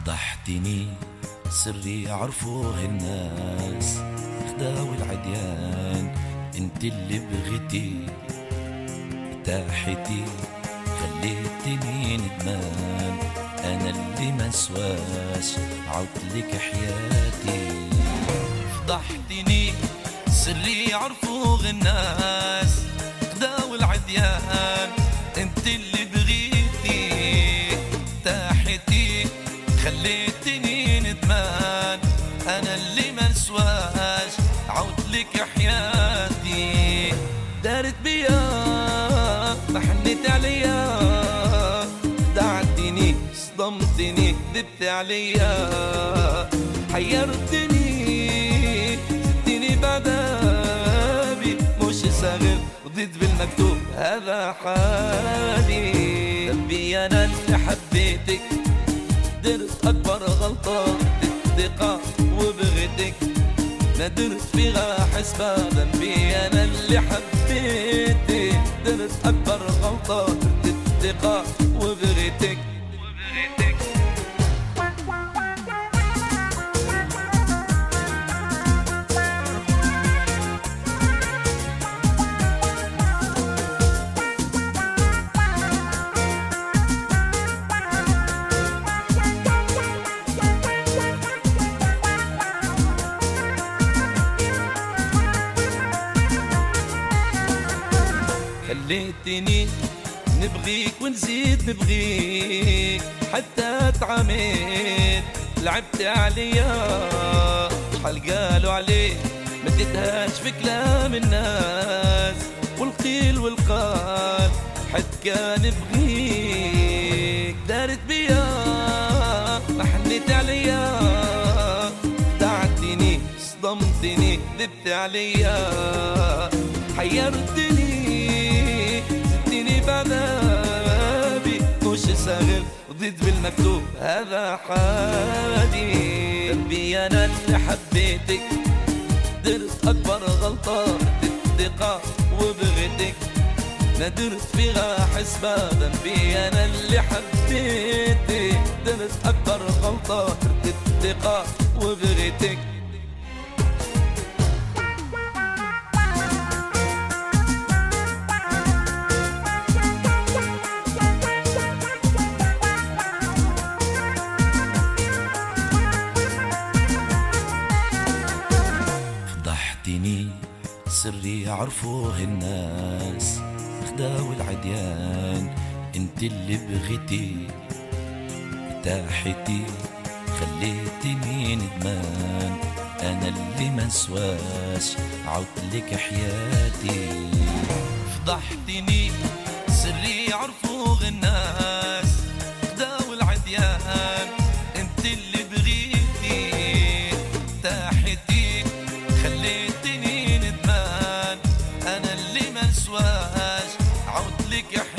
فضحتني سري يعرفوه الناس، خداوي العديان انت اللي بغيتي تاحتي، خليتني ندمان انا اللي مسواش عطلك حياتي. فضحتني سري يعرفوه الناس، خداوي العديان انت اللي بغيتي تاحتي، خليتني ندمان انا اللي منسواش عودلك حياتي. دارت بيا ما حنيت عليا، دعتني صدمتني دبت عليا، حيرتني زدتني بعذابي، مش صاغر وضيت بالمكتوب هذا حالي. ربي انا اللي حبيتك درت أكبر غلطة الثقة وبغيتك، ندرت فيها حسبة ذنبي أنا اللي حبيتك، درت أكبر غلطة الثقة وبغيتك. خليتني نبغيك ونزيد نبغيك، حتى تعميت لعبت عليا، حال قالوا عليك ما اديتهاش في كلام الناس، والقيل والقال حد كان بغيك. دارت بيا ما حنيت عليا، دعتني صدمتني ذبت عليا، حيرتني بعذابي، مش صاغر وضيت بالمكتوب هذا حالي. قلبي انا اللي حبيتك درت اكبر غلطة الثقة وبغيتك، ندرت فيها حسبة ذنبي انا اللي حبيتك، درت اكبر غلطة الثقة وبغيتك. سري يعرفوه الناس، خداوي العديان انت اللي بغيتي تاحتي، خليتني ندمان انا اللي منسواش عودلك حياتي. فضحتني سري يعرفوه الناس، خداوي العديان انت اللي بغيتي تاحتي، خليتني ندمان انا اللي منسواش عودلك